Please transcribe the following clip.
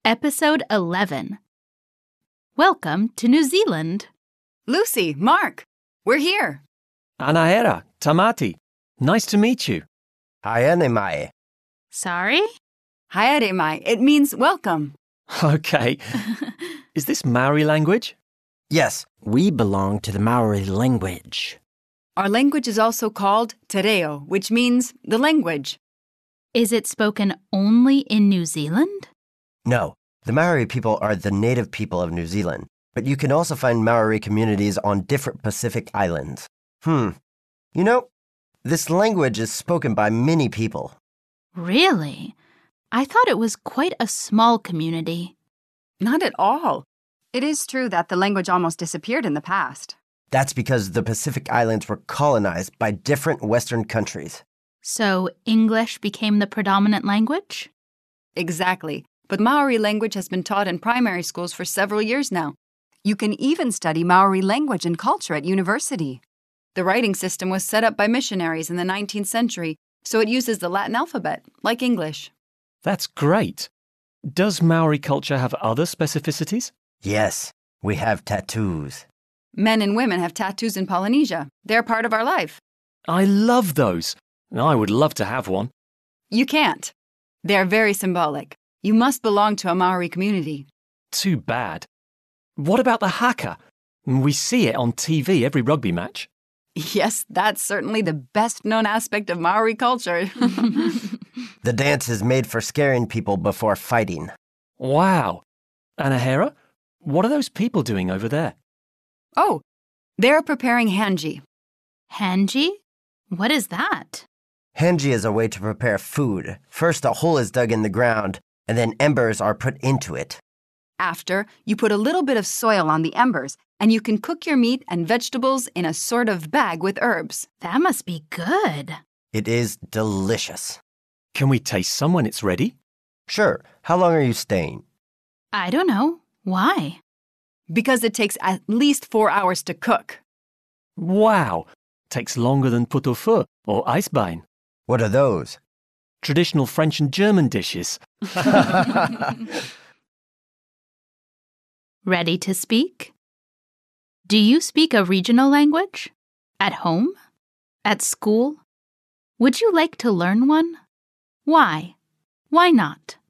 Episode 11. Welcome to New Zealand. Lucy, Mark, we're here. Anahera, Tamati. Nice to meet you. Haere mai. Sorry? Haere mai. It means welcome. Okay. Is this Maori language? Yes, We belong to the Maori language. Our language is also called Te Reo, which means the language. Is it spoken only in New Zealand? no. The Maori people are the native people of New Zealand, but you can also find Maori communities on different Pacific islands. You know, this language is spoken by many people. Really? I thought it was quite a small community. Not at all. It is true that the language almost disappeared in the past. That's because the Pacific Islands were colonized by different Western countries. So English became the predominant language? Exactly. But Maori language has been taught in primary schools for several years now. You can even study Maori language and culture at university. The writing system was set up by missionaries in the 19th century, so it uses the Latin alphabet, like English. That's great. Does Maori culture have other specificities? Yes, we have tattoos. Men and women have tattoos in Polynesia. They're part of our life. I love those. I would love to have one. You can't. They're very symbolic. You must belong to a Maori community. Too bad. What about the haka? We see it on TV every rugby match. Yes, that's certainly the best-known aspect of Maori culture. The dance is made for scaring people before fighting. Wow. Anahera, what are those people doing over there? Oh, they're preparing hanji. Hanji? What is that? Hanji is a way to prepare food. First, a hole is dug in the ground, and then embers are put into it. After, you put a little bit of soil on the embers, and you can cook your meat and vegetables in a sort of bag with herbs. That must be good. It is delicious. Can we taste some when it's ready? Sure, how long are you staying? I don't know. Why? Because it takes at least 4 hours to cook. Wow. Takes longer than pot-au-feu or eisbein. What are those? Traditional French and German dishes. Ready to speak? Do you speak a regional language? At home? At school? Would you like to learn one? Why? Why not?